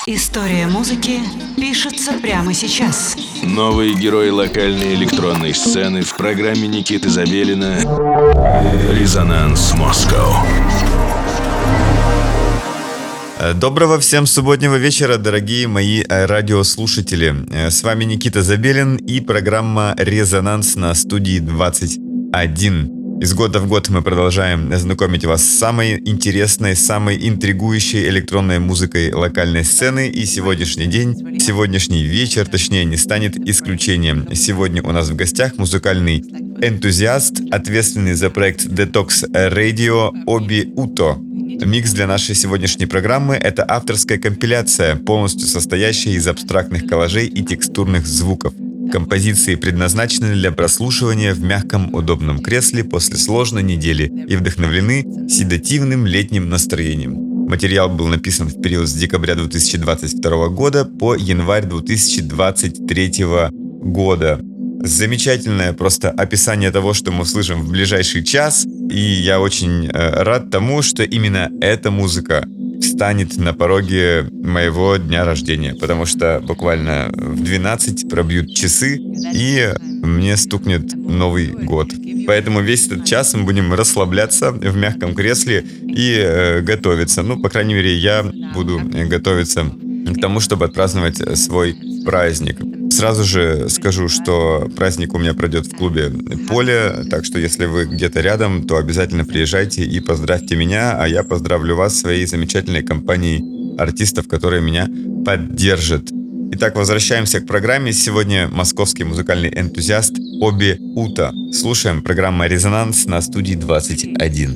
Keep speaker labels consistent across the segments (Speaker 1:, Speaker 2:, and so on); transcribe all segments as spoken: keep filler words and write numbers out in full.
Speaker 1: История музыки пишется прямо сейчас.
Speaker 2: Новые герои локальной электронной сцены в программе Никиты Забелина «Резонанс Москва».
Speaker 3: Доброго всем субботнего вечера, дорогие мои радиослушатели. С вами Никита Забелин и программа «Резонанс» на студии двадцать один. Из года в год мы продолжаем знакомить вас с самой интересной, самой интригующей электронной музыкой локальной сцены. И сегодняшний день, сегодняшний вечер, точнее, не станет исключением. Сегодня у нас в гостях музыкальный энтузиаст, ответственный за проект Detox Radio Оби Уто. Микс для нашей сегодняшней программы — это авторская компиляция, полностью состоящая из абстрактных коллажей и текстурных звуков. Композиции предназначены для прослушивания в мягком, удобном кресле после сложной недели и вдохновлены седативным летним настроением. Материал был написан в период с декабря две тысячи двадцать второго года по январь две тысячи двадцать третьего года. Замечательное просто описание того, что мы услышим в ближайший час, и я очень э, рад тому, что именно эта музыка встанет на пороге моего дня рождения, потому что буквально в двенадцать пробьют часы, и мне стукнет Новый год. Поэтому весь этот час мы будем расслабляться в мягком кресле и э, готовиться. Ну, по крайней мере, я буду готовиться к тому, чтобы отпраздновать свой праздник. Сразу же скажу, что праздник у меня пройдет в клубе «Поле», так что если вы где-то рядом, то обязательно приезжайте и поздравьте меня, а я поздравлю вас своей замечательной компанией артистов, которые меня поддержат. Итак, возвращаемся к программе. Сегодня московский музыкальный энтузиаст Оби Уто. Слушаем программу «Резонанс» на студии двадцать один.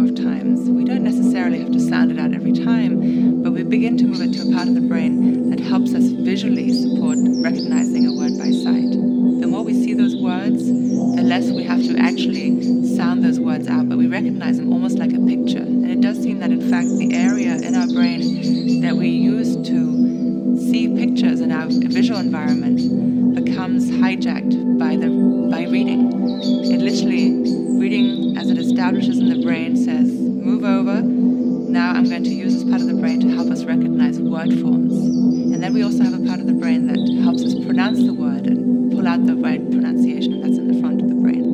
Speaker 4: necessarily have to sound it out every time, but we begin to move it to a part of the brain that helps us visually support recognizing a word by sight. The more we see those words, the less we have to actually sound those words out, but we recognize them almost like a picture. And it does seem that, in fact, the area in our brain that we use to see pictures in our visual environment becomes hijacked by the by reading. It literally, reading as it establishes in the brain, says, move over, now I'm going to use this part of the brain to help us recognize word forms. And then we also have a part of the brain that helps us pronounce the word and pull out the right pronunciation that's in the front of the brain.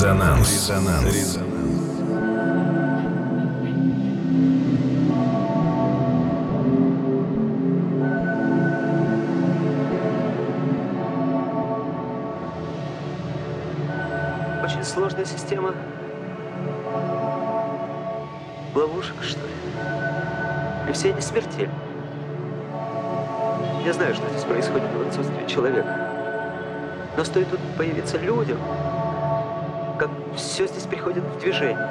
Speaker 2: Резонанс. Резонанс.
Speaker 5: Очень сложная система ловушек, что ли. И все они смертельны. Я знаю, что здесь происходит в отсутствии человека. Но стоит тут появиться людям, как все здесь приходит в движение.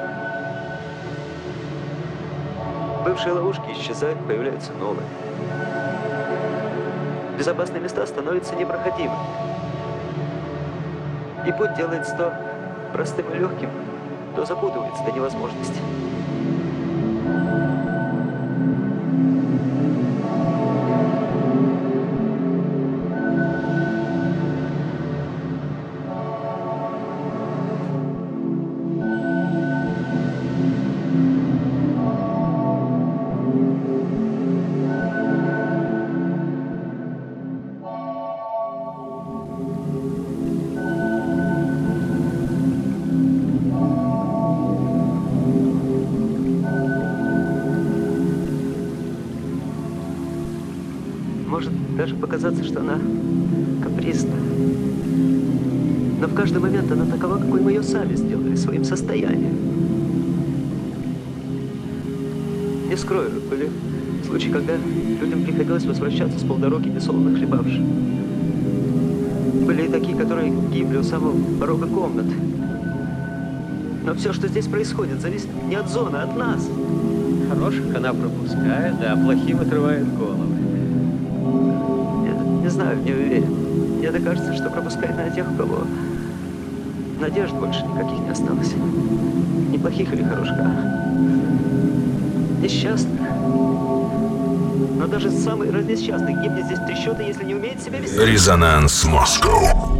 Speaker 5: Бывшие ловушки исчезают, появляются новые. Безопасные места становятся непроходимыми. И путь делается то простым и легким, то запутывается до невозможности. Может даже показаться, что она капризна. Но в каждый момент она такова, какой мы ее сами сделали своим состоянием. Не скрою, были случаи, когда людям приходилось возвращаться с полдороги несолоно хлебавши. Были и такие, которые гибли у самого порога комнаты. Но все, что здесь происходит, зависит не от зоны, а от нас.
Speaker 6: Хороших она пропускает, а плохим отрывает головы.
Speaker 5: Не знаю, не уверен. Мне так кажется, что пропускает на тех, у кого надежд больше никаких не осталось. Ни плохих или хороших, а несчастных. Но даже самый разнесчастный гибнет здесь в три счета, если не умеет себя вести.
Speaker 2: Резонанс Москва.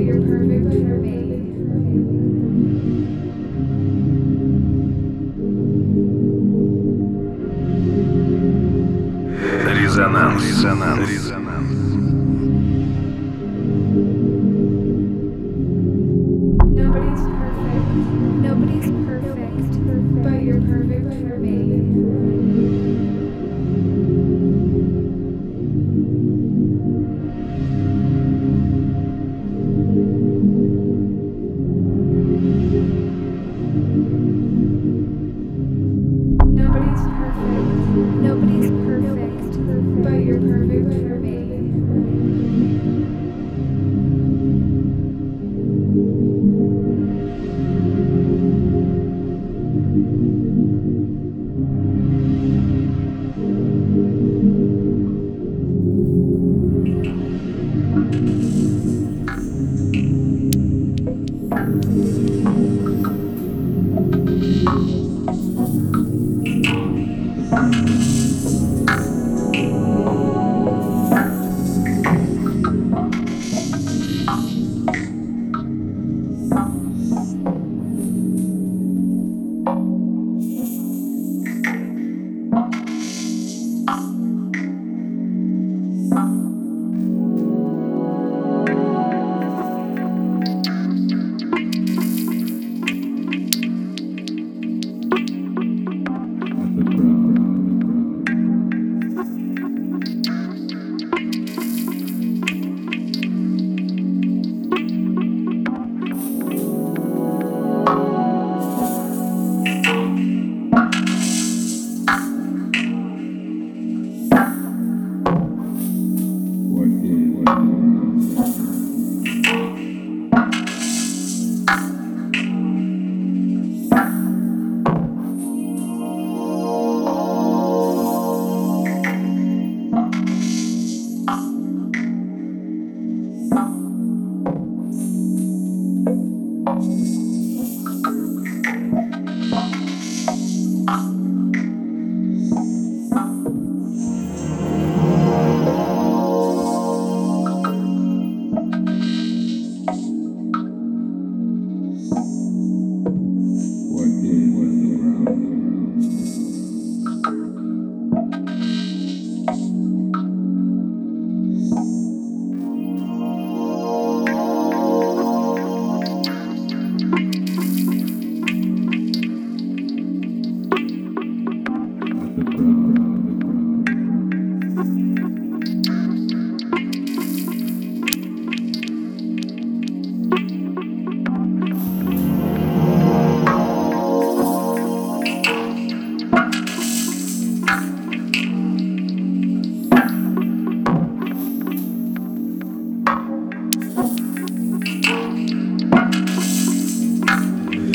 Speaker 7: But you're perfect for me.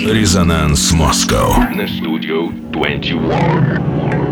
Speaker 2: Resonance Moscow на Studio двадцать один.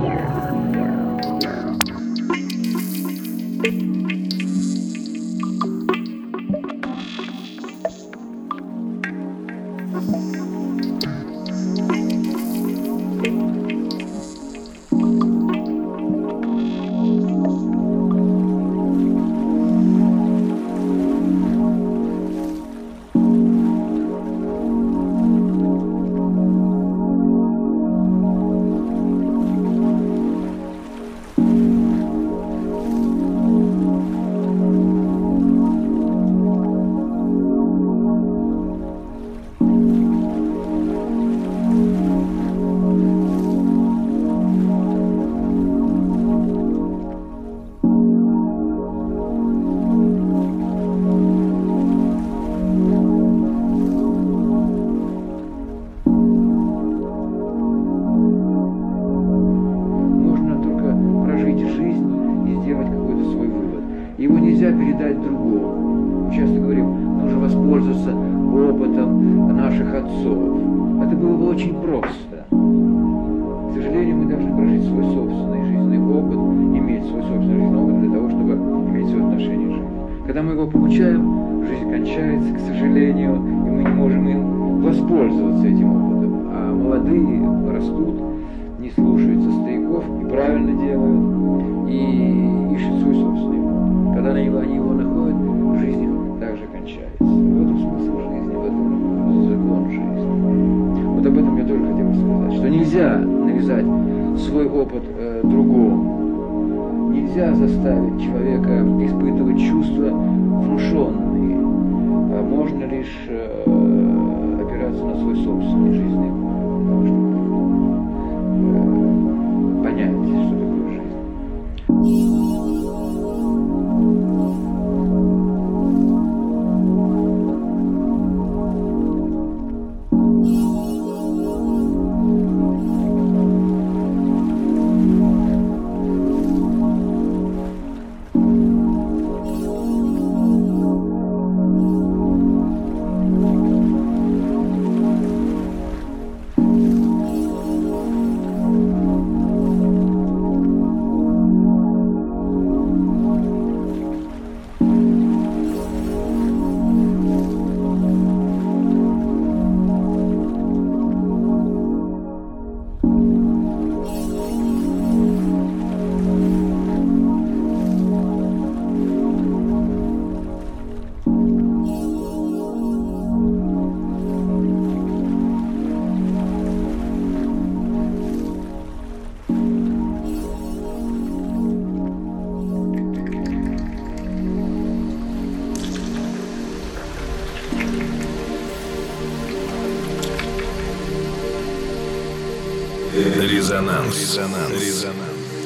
Speaker 2: Резонанс. Резонанс. Резонанс.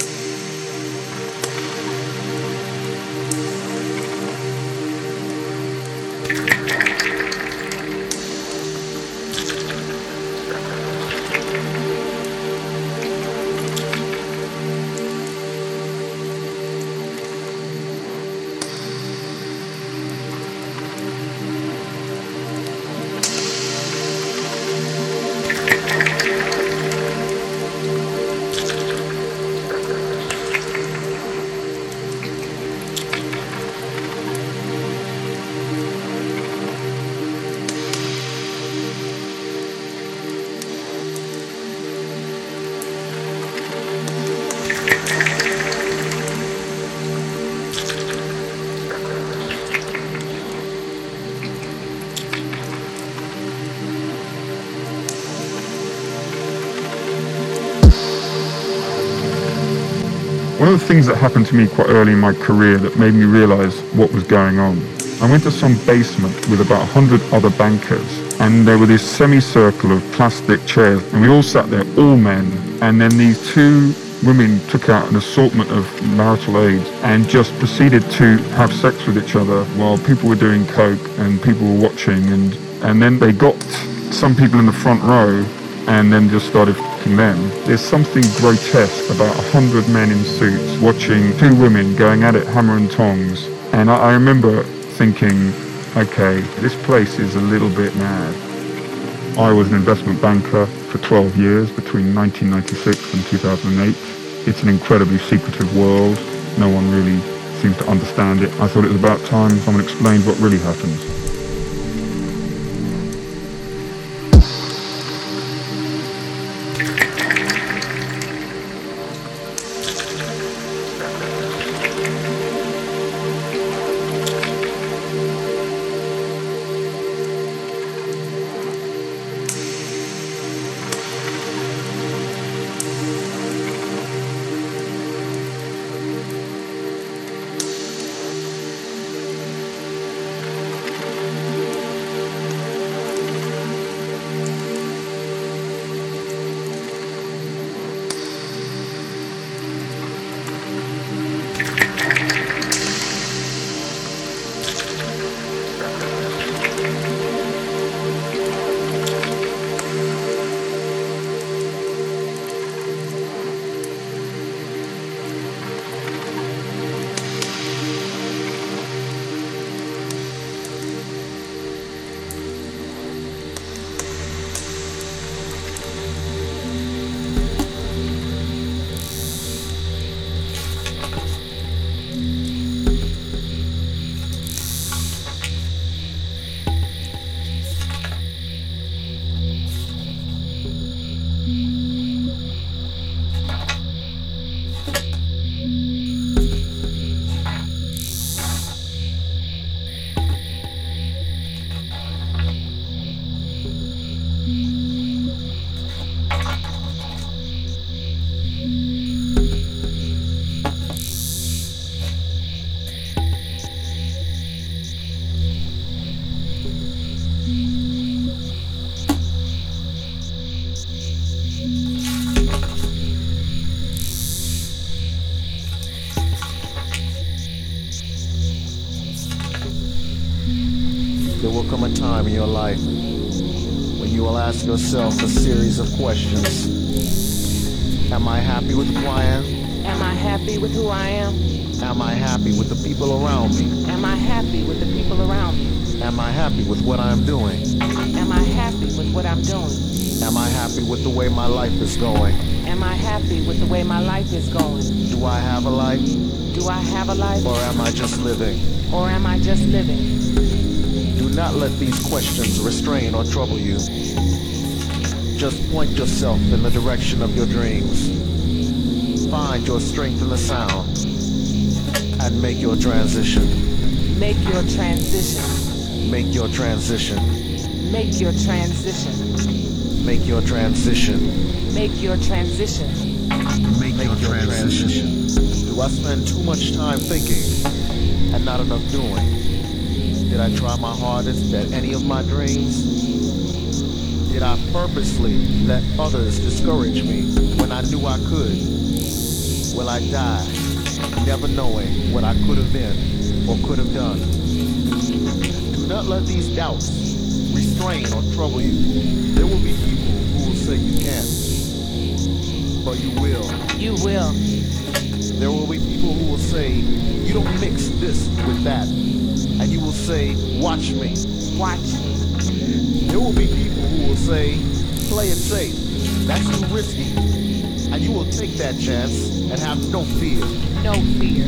Speaker 7: One of the things that happened to me quite early in my career that made me realise what was going on, I went to some basement with about a hundred other bankers, and there were this semicircle of plastic chairs, and we all sat there, all men, and then these two women took out an assortment of marital aids and just proceeded to have sex with each other while people were doing coke and people were watching, and, and then they got some people in the front row and then just started f***ing them. There's something grotesque about a hundred men in suits watching two women going at it hammer and tongs. And I, I remember thinking, okay, this place is a little bit mad. I was an investment banker for twelve years between nineteen ninety-six and two thousand eight. It's an incredibly secretive world. No one really seems to understand it. I thought it was about time someone explained what really happens.
Speaker 8: There will come a time in your life when you will ask yourself a series of questions. Am I happy with who I am?
Speaker 9: Am I happy with who I am?
Speaker 8: Am I happy with the people around me?
Speaker 9: Am I happy with the people around me?
Speaker 8: Am I happy with what I'm doing?
Speaker 9: Am I happy with what I'm doing?
Speaker 8: Am I happy with the way my life is going?
Speaker 9: Am I happy with the way my life is going?
Speaker 8: Do I have a life?
Speaker 9: Do I have a life?
Speaker 8: Or am I just living?
Speaker 9: Or am I just living?
Speaker 8: Do not let these questions restrain or trouble you. Just point yourself in the direction of your dreams. Find your strength in the sound and make your transition.
Speaker 9: Make your transition.
Speaker 8: Make your transition.
Speaker 9: Make your transition.
Speaker 8: Make your transition.
Speaker 9: Make your transition.
Speaker 8: Make your transition. Do I spend too much time thinking and not enough doing? Did I try my hardest at any of my dreams? Did I purposely let others discourage me when I knew I could? Will I die never knowing what I could have been or could have done? Do not let these doubts restrain or trouble you. There will be people who will say you can't, but you will.
Speaker 9: You will.
Speaker 8: There will be people who will say, you don't mix this with that. And you will say, watch me.
Speaker 9: Watch me.
Speaker 8: There will be people who will say, play it safe. That's too risky. And you will take that chance and have no fear.
Speaker 9: No fear.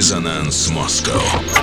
Speaker 2: Резонанс Москва.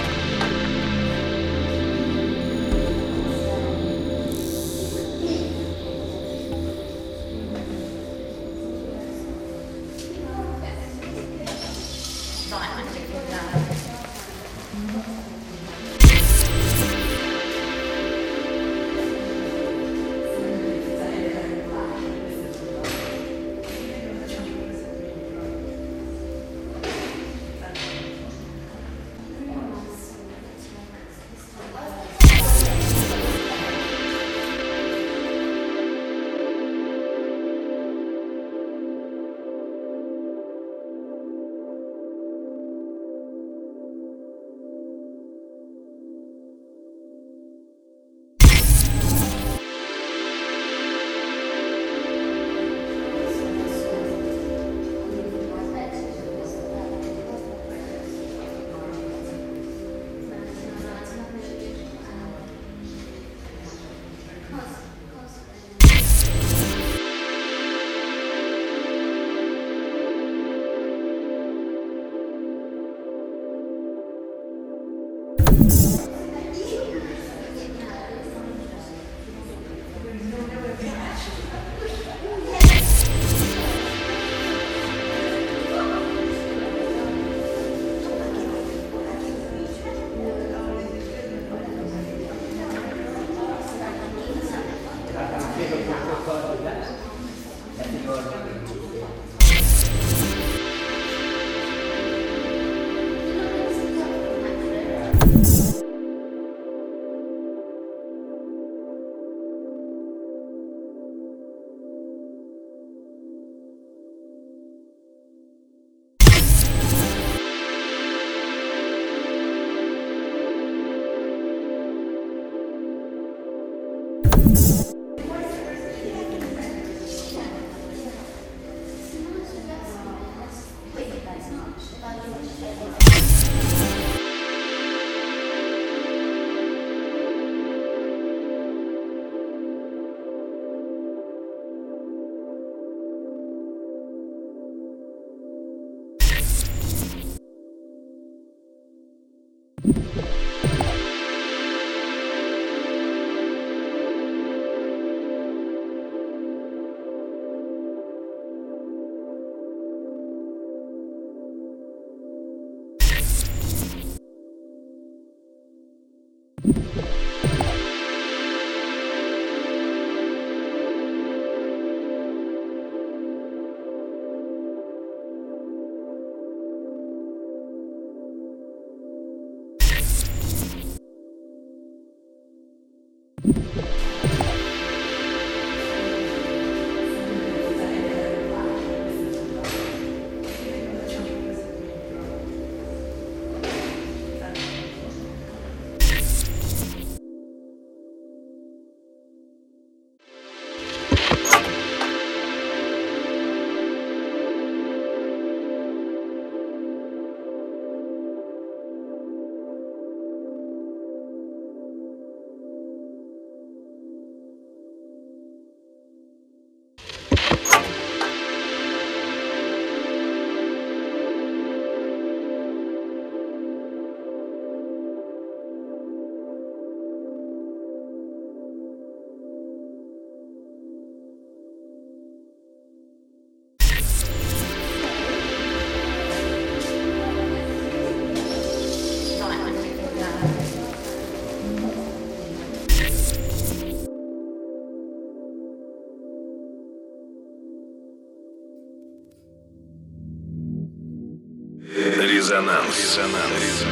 Speaker 2: Резонанс. Резонанс.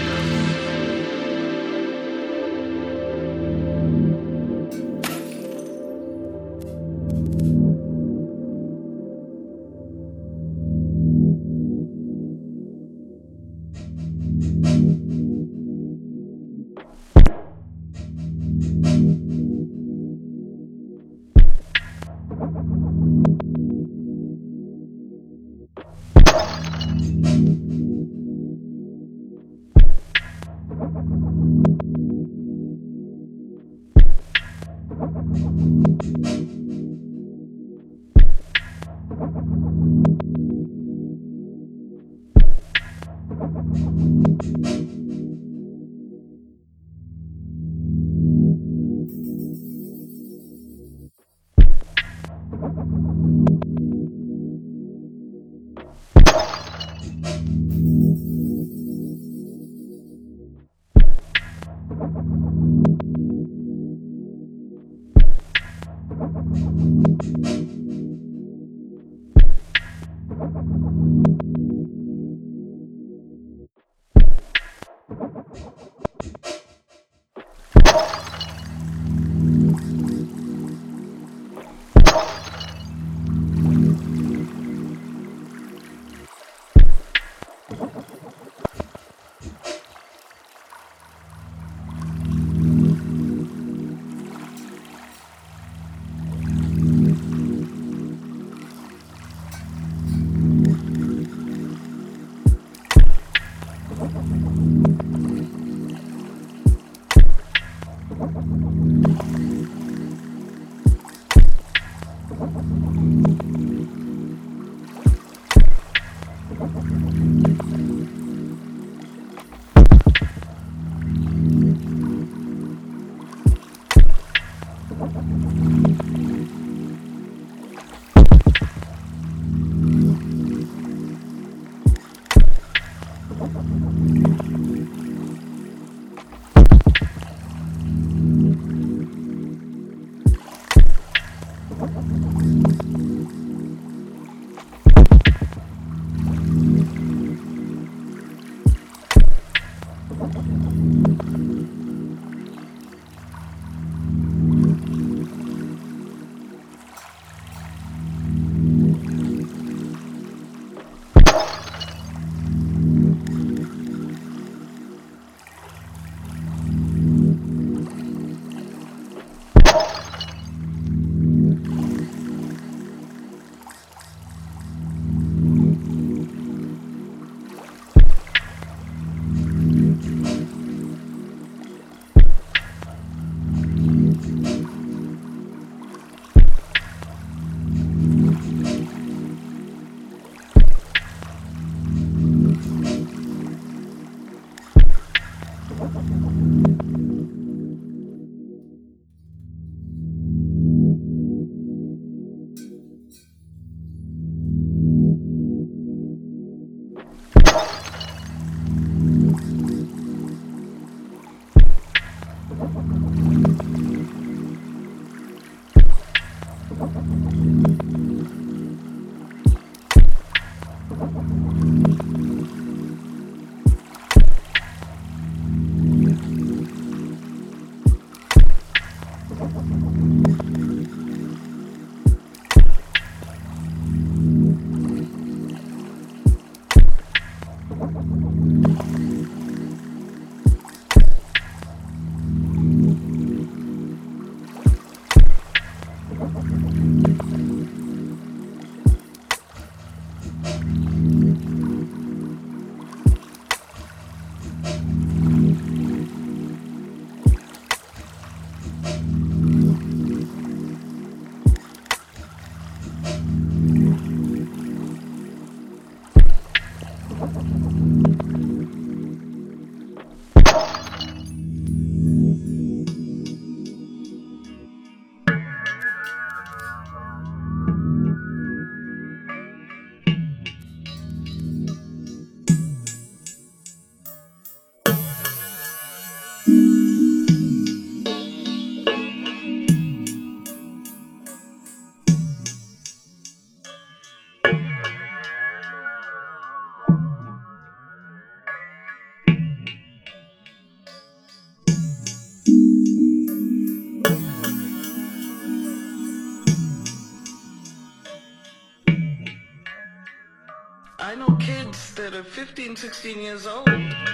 Speaker 10: I know kids that are fifteen, sixteen years old.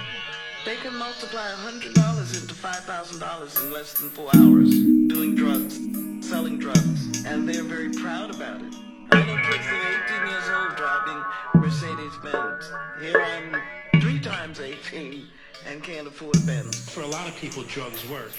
Speaker 10: They can multiply one hundred dollars into five thousand dollars in less than four hours doing drugs, selling drugs, and they're very proud about it. I know kids that are eighteen years old driving Mercedes-Benz. Here I'm three times eighteen and can't afford a Benz.
Speaker 11: For a lot of people, drugs work.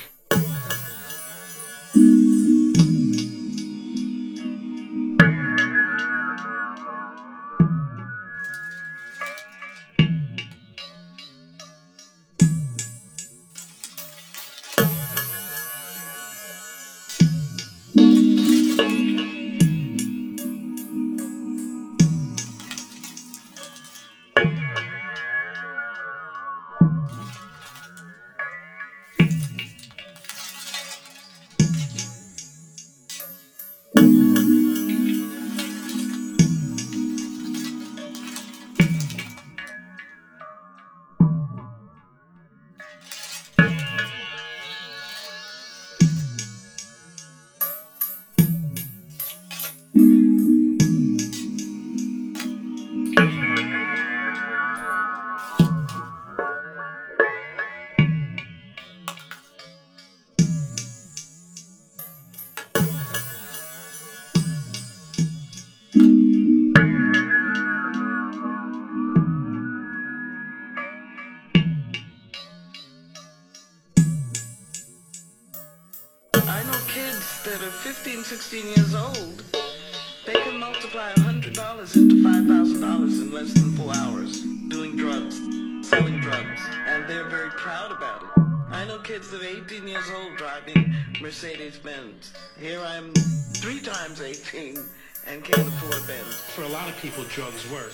Speaker 10: that are fifteen, sixteen years old, they can multiply one hundred dollars into five thousand dollars in less than four hours, doing drugs, selling drugs, and they're very proud about it. I know kids that are eighteen years old driving Mercedes-Benz. Here I'm three times eighteen and can't afford a Benz.
Speaker 11: For a lot of people, drugs work.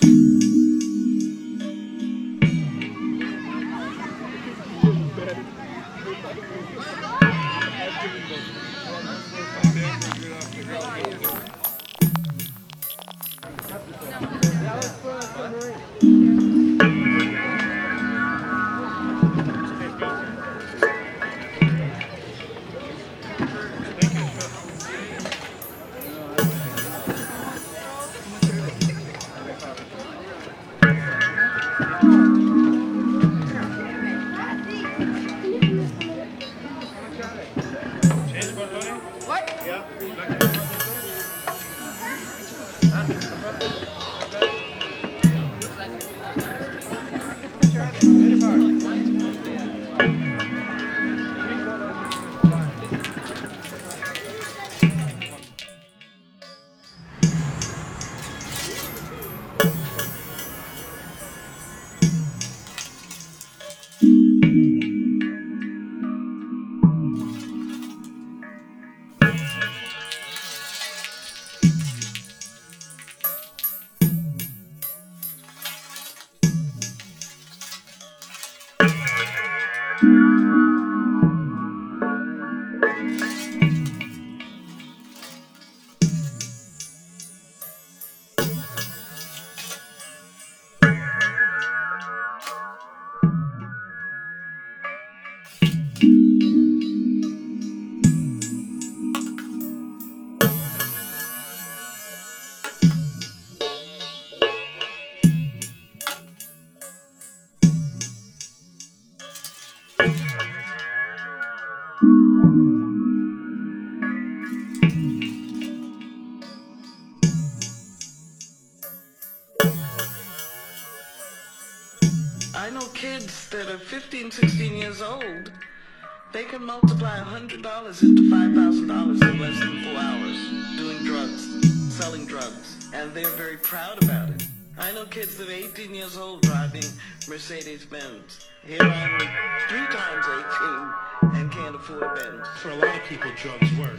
Speaker 10: I know kids that are fifteen, sixteen years old. They can multiply one hundred dollars into five thousand dollars in less than four hours, doing drugs, selling drugs, and they're very proud about it. I know kids that are eighteen years old driving Mercedes-Benz. Here I'm three times eighteen and can't afford a Benz.
Speaker 11: For a lot of people, drugs work.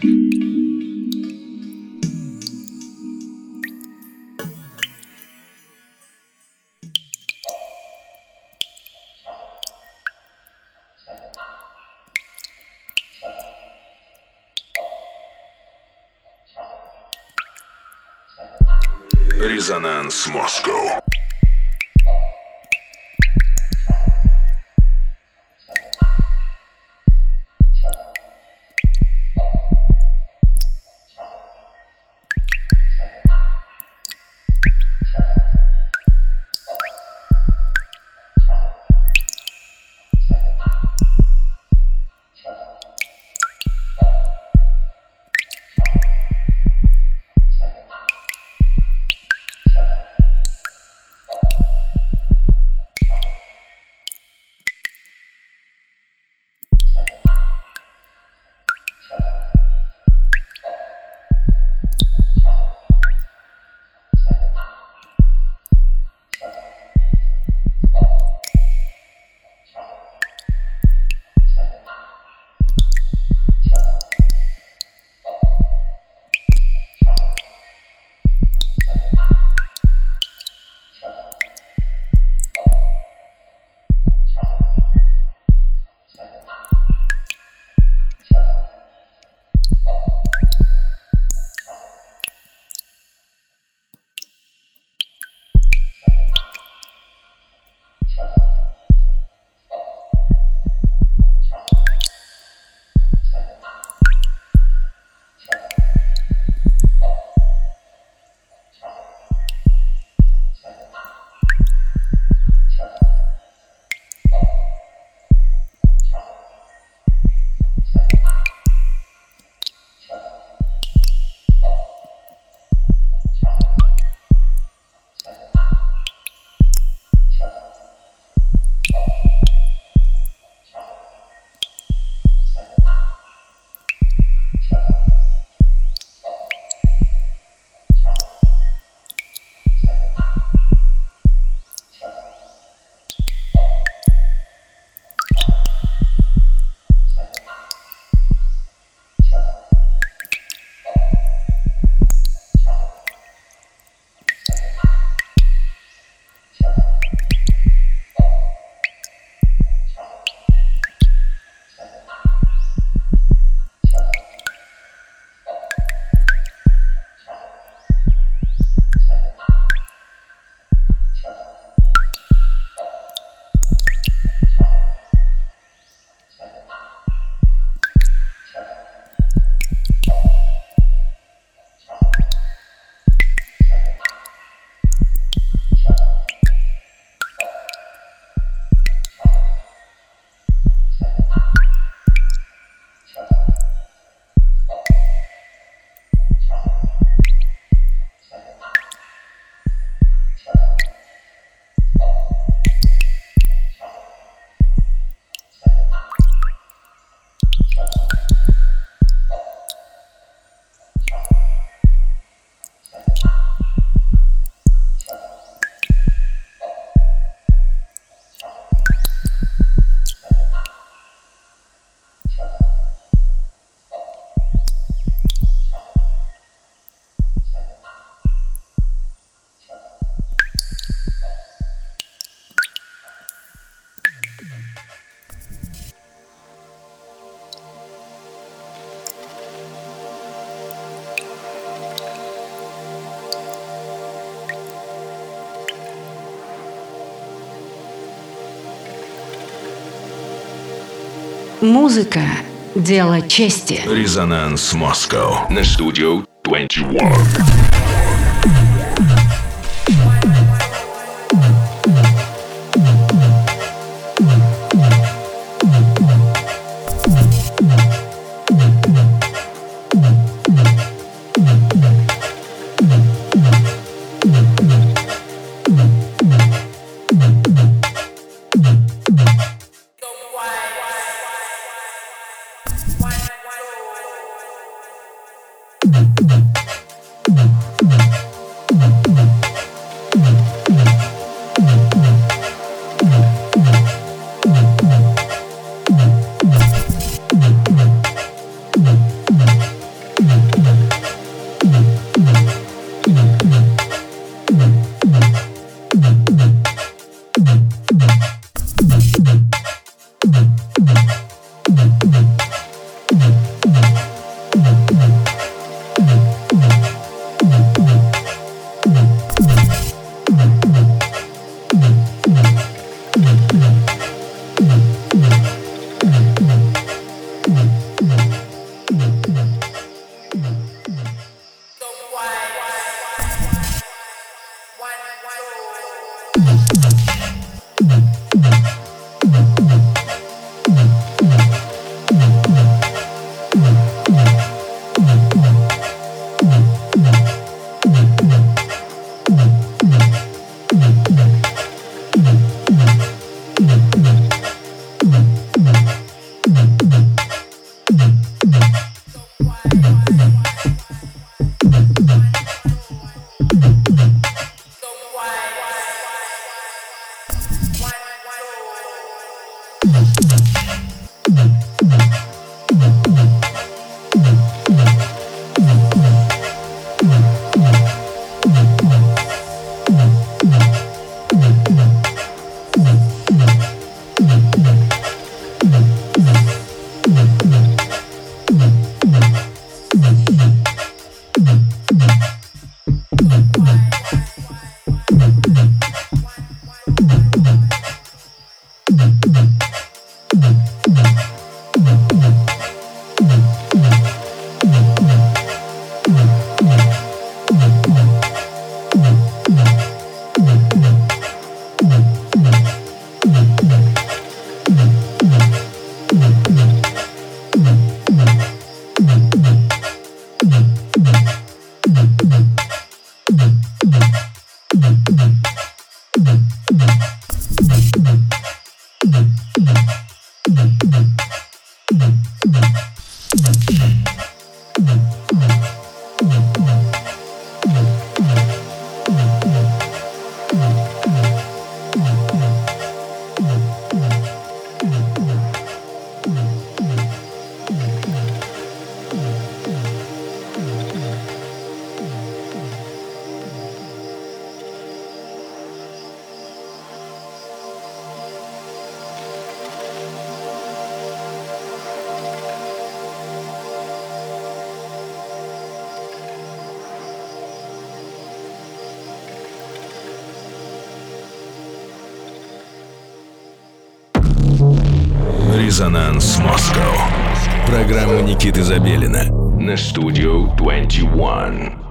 Speaker 2: Резонанс Москва.
Speaker 1: Музыка – дело чести.
Speaker 2: Резонанс Москва на студию двадцать один. Резонанс Москва. Программа Никиты Забелина на студию двадцать один.